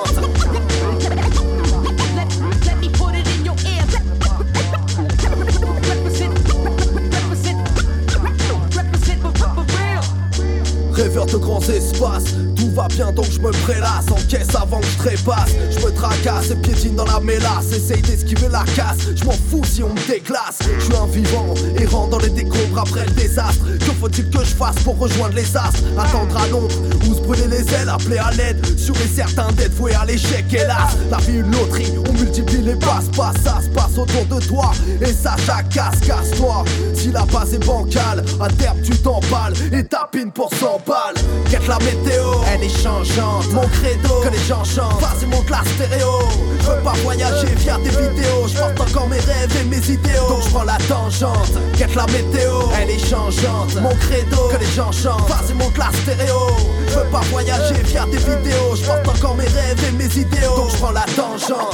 S21: Rêveur de grands espaces, tout va bien donc je me prélasse. Encaisse avant que je trépasse, je me tracasse et piétine dans la mélasse. Essaye d'esquiver la casse, je m'en fous si on me déclasse. Je suis un vivant, errant dans les décombres après le désastre. Que faut-il que je fasse pour rejoindre les astres? Attendre à l'ombre ou se brûler les ailes, appeler à l'aide. Sûr et certain d'être voué à l'échec, hélas. La vie une loterie, on multiplie les passe-passe. Ça se passe autour de toi et ça jacasse, casse-toi. Si la base est bancale, à terme tu t'emballes et tapines pour cent balles. Quête la météo, elle est changeante. Mon credo, que les gens chantent. Vas-y monte la stéréo. Je veux pas voyager via des vidéos. Je porte encore mes rêves et mes idéaux. Donc je prends la tangente. Quête la météo, elle est changeante. Mon credo, que les gens chantent. Vas-y monte la stéréo. Je veux pas voyager via des vidéos. Je porte encore mes rêves et mes idéaux. Donc je prends la tangente.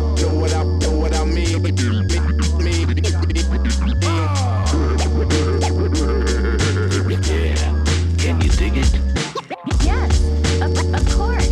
S5: Can you dig it?
S1: Yes, of, of course.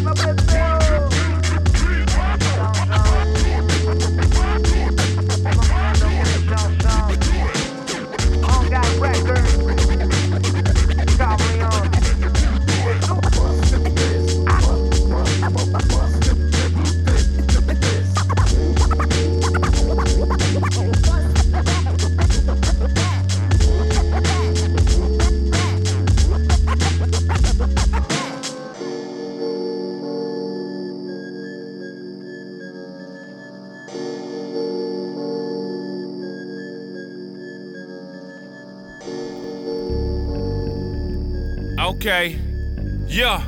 S3: Okay, yeah.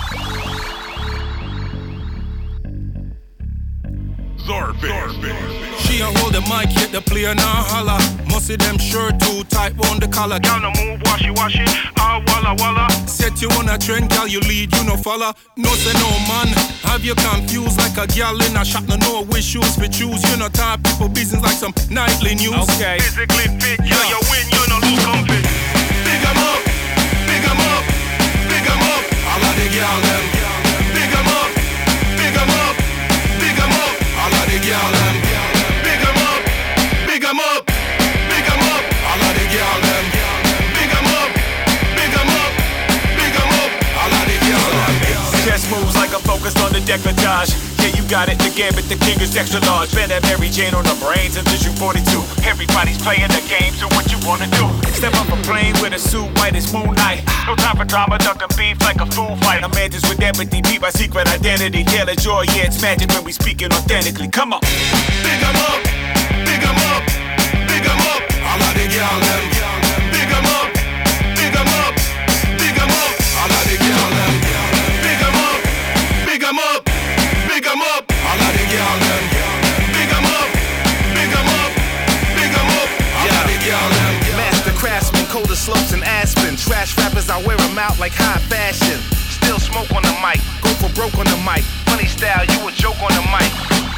S3: She a hold the mic, hit the player now holla. Must see them shirt too tight on the collar. Girl no move, washy washy, ah walla walla. Set you on a trend, girl you lead, you no follow. No say no man, have you confused like a girl in a shop. No know which shoes we choose. You no type people business like some nightly news. Okay, physically fit, yeah, yeah. You win, you no look comfy. Big 'em up, big 'em up, big 'em up. All of the girl them. Big 'em up, big 'em up, big 'em up. All of the girl them. Big 'em up, big 'em up, big 'em up. All of the girl them. Big 'em up, big 'em up, big 'em up. All of the girl them. Chest moves like a folk
S4: focused on the decolletage. Yeah, you got it, the gambit, the king is extra large. Better Mary Jane on the brains and Vision forty-two. Everybody's playing the game, so what you wanna do? Step up a plane with a suit white as moonlight. No time for drama, ducking beef like a fool fight. I'm managed with empathy, beat my secret identity. Taylor joy, yeah, it's magic when we speaking authentically. Come on.
S10: Big 'em up, big 'em up, big 'em up. All of the girl them. Big 'em up, big 'em up, big 'em up. All of the girl them. Big 'em up, big 'em up, big 'em up. All of the girl them. Big 'em up, big 'em up, big 'em up. All of the girl them.
S22: Master craftsman, colder slopes and Aspen. Trash rappers, I wear them out like high fashion. Still smoke on the mic, go for broke on the mic. Funny style, you a joke on the mic.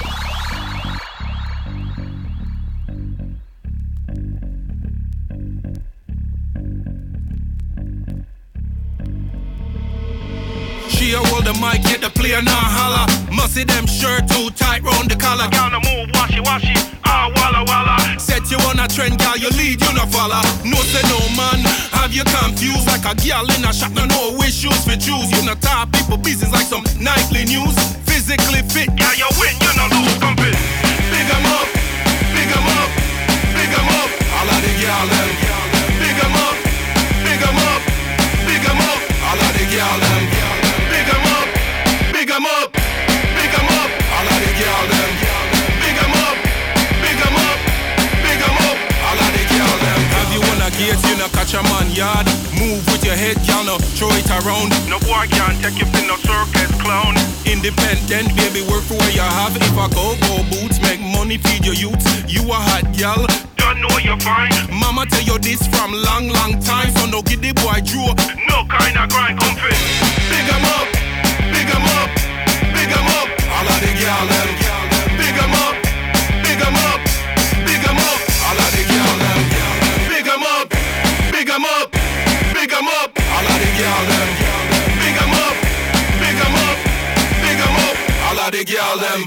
S8: She a hold the mic, get the player now holla. Musty them shirt too tight round the collar.
S22: Down the move, washy washy, ah walla walla.
S8: Set you on a trend, girl, you lead, you no follow. No say no man, have you confused like a girl in a shop, no know which shoes for choose. You no top people business like some nightly news. Physically fit,
S22: yeah, you win, you no lose, compete.
S10: Big 'em up, big 'em up, big 'em up. All of the girl them. Big 'em up, big 'em up, big 'em up. All of the girl them. Big 'em up, big 'em up, big 'em up. All of the girl them. Big 'em up, big 'em up, big 'em up. All of the girl them.
S8: Have you on a gate, you no catch a man yard. Move with your head, y'all no throw it around.
S22: No boy can't take you in no circus clown.
S8: Independent, baby, work for what you have. If I go, go boots, make money, feed your youth. You a hot gal,
S22: don't know you're fine.
S8: Mama tell you this from long, long time. So no get the boy drew.
S22: No kind of grind, comfort.
S10: Big 'em up, big 'em up, big 'em up. All of the girl them. Big 'em up, big 'em up, big 'em up. All of the girl them. Big 'em up, big 'em up, big 'em up. All of the girl them. Big 'em up, big 'em up, big 'em up. All of the girl them.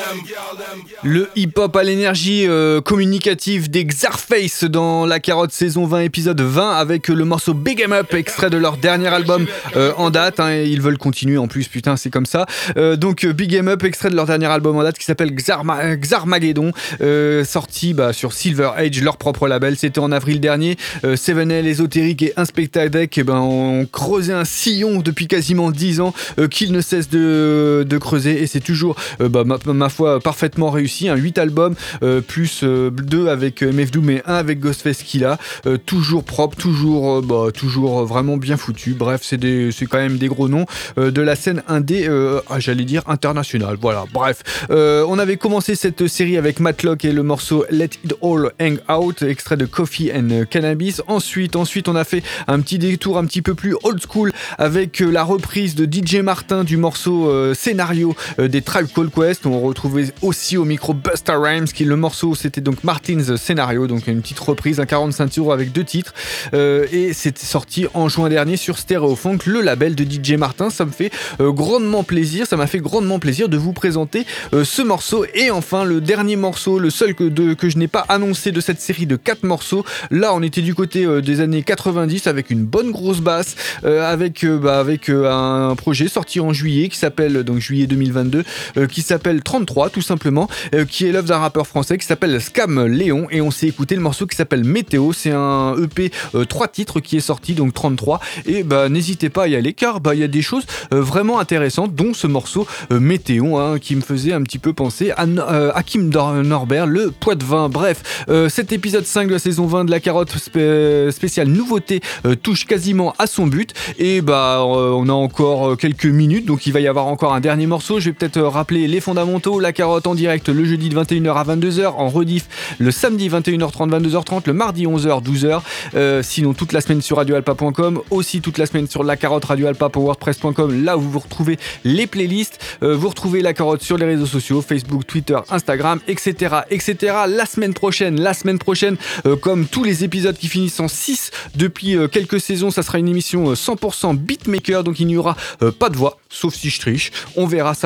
S6: Le hip-hop à l'énergie euh, communicative des Xarface dans La Carotte saison vingt épisode vingt avec le morceau Big 'em Up, extrait de leur dernier album euh, en date, hein, ils veulent continuer en plus, putain c'est comme ça. Euh, donc Big 'em Up, extrait de leur dernier album en date qui s'appelle Xarma- Xarmageddon, euh, sorti bah, sur Silver Age, leur propre label, c'était en avril dernier. euh, seven L, Ésotérique et Inspectadec eh ben, ont creusé un sillon depuis quasiment dix ans euh, qu'ils ne cessent de, de creuser et c'est toujours euh, bah, ma, ma foi parfaitement réussi, hein, huit albums euh, plus euh, deux avec M F Doom et un avec Ghostface Killah, euh, toujours propre, toujours, euh, bah, toujours vraiment bien foutu. Bref, c'est, des, c'est quand même des gros noms euh, de la scène indé, euh, ah, j'allais dire internationale. Voilà, bref. Euh, on avait commencé cette série avec Matlock et le morceau Let It All Hang Out, extrait de Coffee and Cannabis. Ensuite, ensuite, on a fait un petit détour un petit peu plus old school avec euh, la reprise de D J Martin du morceau euh, Scénario euh, des Tribe Called Quest. On retrouvait aussi au micro Busta Rhymes, qui le morceau c'était donc Martin's Scénario, donc une petite reprise, un quarante-cinq tours avec deux titres, euh, et c'était sorti en juin dernier sur Stereofunk, le label de D J Martin. Ça me fait euh, grandement plaisir, ça m'a fait grandement plaisir de vous présenter euh, ce morceau. Et enfin le dernier morceau, le seul que, de, que je n'ai pas annoncé de cette série de quatre morceaux. Là on était du côté euh, des années quatre-vingt-dix avec une bonne grosse basse, euh, avec, euh, bah, avec euh, un projet sorti en juillet qui s'appelle, donc juillet deux mille vingt-deux, euh, qui s'appelle trente-trois tout simplement, euh, qui est l'œuvre d'un rappeur français qui s'appelle Scam Léon, et on s'est écouté le morceau qui s'appelle Météo. C'est un E P euh, trois titres qui est sorti, donc trente-trois, et bah n'hésitez pas à y aller car bah il y a des choses euh, vraiment intéressantes, dont ce morceau euh, Météo, hein, qui me faisait un petit peu penser à euh, Hakim Norbert, le Poitevin. Bref, euh, cet épisode cinq de la saison vingt de La Carotte spé- spéciale nouveauté euh, touche quasiment à son but, et bah euh, on a encore quelques minutes, donc il va y avoir encore un dernier morceau. Je vais peut-être euh, rappeler les fondamentaux. La Carotte en direct le jeudi de vingt et une heures à vingt-deux heures, en rediff le samedi vingt et une heures trente, vingt-deux heures trente, le mardi onze heures, douze heures, euh, sinon toute la semaine sur radio alpa point com, aussi toute la semaine sur La Carotte Radio Alpa pour wordpress point com, là où vous retrouvez les playlists. Euh, vous retrouvez La Carotte sur les réseaux sociaux, Facebook, Twitter, Instagram, etc., etc. La semaine prochaine, la semaine prochaine, euh, comme tous les épisodes qui finissent en six depuis euh, quelques saisons, ça sera une émission euh, cent pour cent beatmaker, donc il n'y aura euh, pas de voix, sauf si je triche. On verra ça la semaine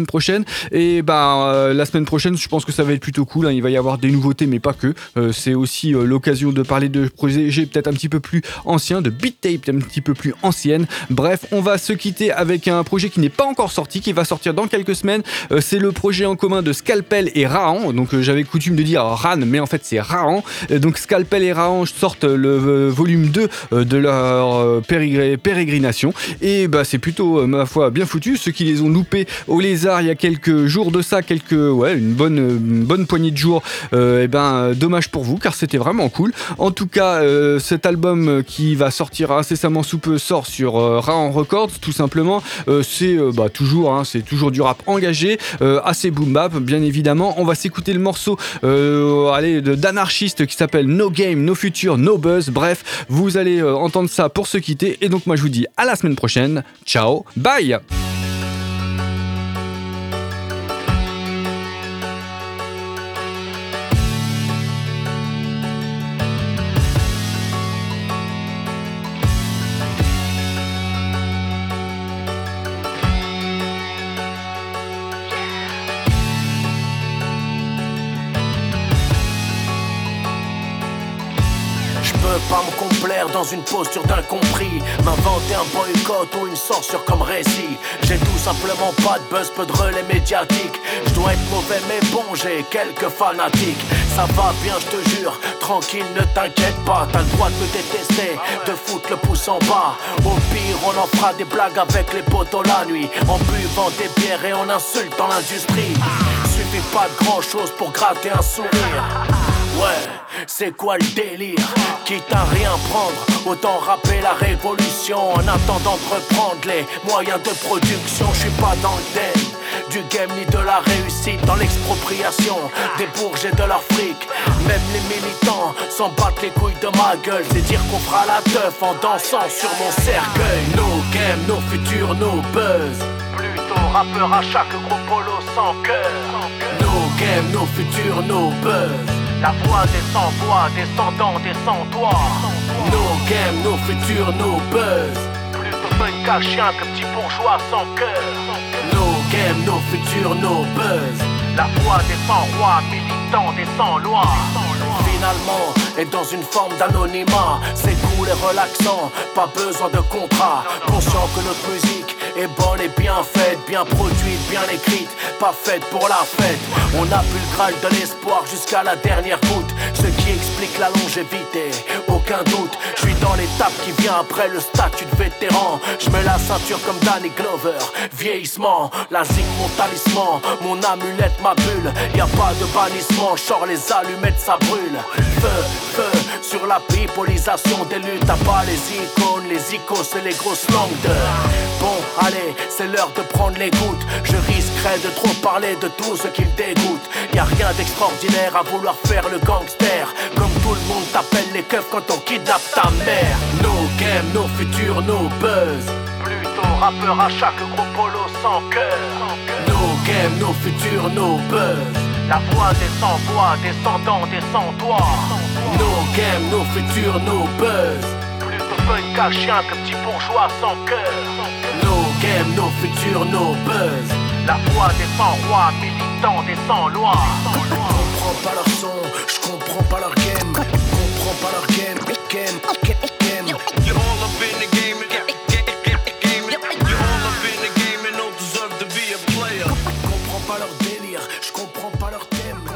S6: semaine prochaine. Et bah, euh, la semaine prochaine, je pense que ça va être plutôt cool. Hein. Il va y avoir des nouveautés, mais pas que. Euh, c'est aussi euh, l'occasion de parler de projets peut-être un petit peu plus anciens, de beat tape un petit peu plus anciennes. Bref, on va se quitter avec un projet qui n'est pas encore sorti, qui va sortir dans quelques semaines. Euh, c'est le projet en commun de Scalpel et Rahan. Donc euh, j'avais coutume de dire Ran, mais en fait c'est Rahan. Euh, donc Scalpel et Rahan sortent le euh, volume deux euh, de leur euh, pérégré- pérégrination. Et bah, c'est plutôt, euh, ma foi, bien foutu. Ceux qui les ont loupés au Lézard il y a quelques jours de ça, quelques, ouais, une bonne, une bonne poignée de jours, euh, et ben dommage pour vous, car c'était vraiment cool. En tout cas, euh, cet album qui va sortir incessamment sous peu sort sur euh, Rahan Records, tout simplement. Euh, c'est euh, bah, toujours, hein, c'est toujours du rap engagé, euh, assez boom bap, bien évidemment. On va s'écouter le morceau euh, allez, de, d'Anarchiste qui s'appelle No Game, No Future, No Buzz. Bref, vous allez euh, entendre ça pour se quitter. Et donc moi je vous dis à la semaine prochaine. Ciao, bye.
S2: Pas me complaire dans une posture d'incompris, m'inventer un boycott ou une censure comme récit. J'ai tout simplement pas de buzz, peu de relais médiatiques. Je dois être mauvais mais bon, j'ai quelques fanatiques. Ça va bien, je te jure, tranquille, ne t'inquiète pas. T'as le droit de me détester, de foutre le pouce en bas. Au pire, on en fera des blagues avec les potos la nuit, en buvant des bières et en insultant l'industrie. Suffit pas de grand chose pour gratter un sourire. Ouais, c'est quoi le délire? Quitte à rien prendre, autant rapper la révolution en attendant de reprendre les moyens de production. Je suis pas dans le thème du game ni de la réussite, dans l'expropriation des bourges et de leur fric. Même les militants s'en battent les couilles de ma gueule. C'est dire qu'on fera la teuf en dansant sur mon cercueil. No game, no futur, no buzz. Plutôt rappeur à chaque gros polo sans cœur. No game, no futur, no buzz. La voix des sans-voix, descendant des sans-toits. No game, no futur, no buzz. Plutôt punk à chien que petit bourgeois sans cœur. No game, no futur, no buzz. La voix des sans-rois, militants des sans-lois. Finalement, est dans une forme d'anonymat. C'est cool et relaxant, pas besoin de contrat. Conscient que notre musique est bonne et bien faite, bien produite, bien écrite, pas faite pour la fête. On a bu le graal de l'espoir jusqu'à la dernière goutte, ce qui explique la longévité, aucun doute. Je suis dans l'étape qui vient après le statut de vétéran. Je mets la ceinture comme Danny Glover. Vieillissement, la zig mon talisman, mon amulette, ma bulle. Y a pas de bannissement, genre les allumettes ça brûle. Feu, feu, sur la pipolisation des luttes. T'as pas les icônes, les icos et les grosses langues de... Bon, allez, c'est l'heure de prendre les gouttes. Je risquerais de trop parler de tout ce qui me dégoûte. Y'a rien d'extraordinaire à vouloir faire le gangster. Comme tout le monde t'appelle les keufs quand on kidnappe ta mère. No game, no futur, no buzz. Plutôt rappeur à chaque gros polo sans cœur. No game, no futur, no buzz. La voix des sans-voix, descendant des sans-toits. No game, no futur, no buzz. Plutôt punk à chien que petit bourgeois sans cœur. No game, no futur, no buzz. La voix des sans-rois, militants des sans-lois. Je comprends pas leur son, je comprends pas leur game. Je comprends pas leur game, game, game.
S8: You're all up in the game, game, you're all up in the game and don't deserve to be a player.
S2: Je comprends pas leur délire, je comprends pas leur thème.